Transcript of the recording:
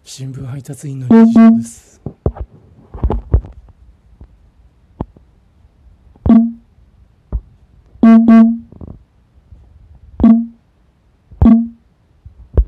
新聞配達員の日常です。